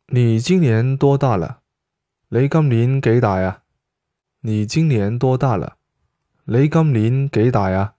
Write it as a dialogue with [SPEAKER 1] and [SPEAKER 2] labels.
[SPEAKER 1] 你今年多大了？你今年幾大啊？你今年多大了？你今年幾大啊？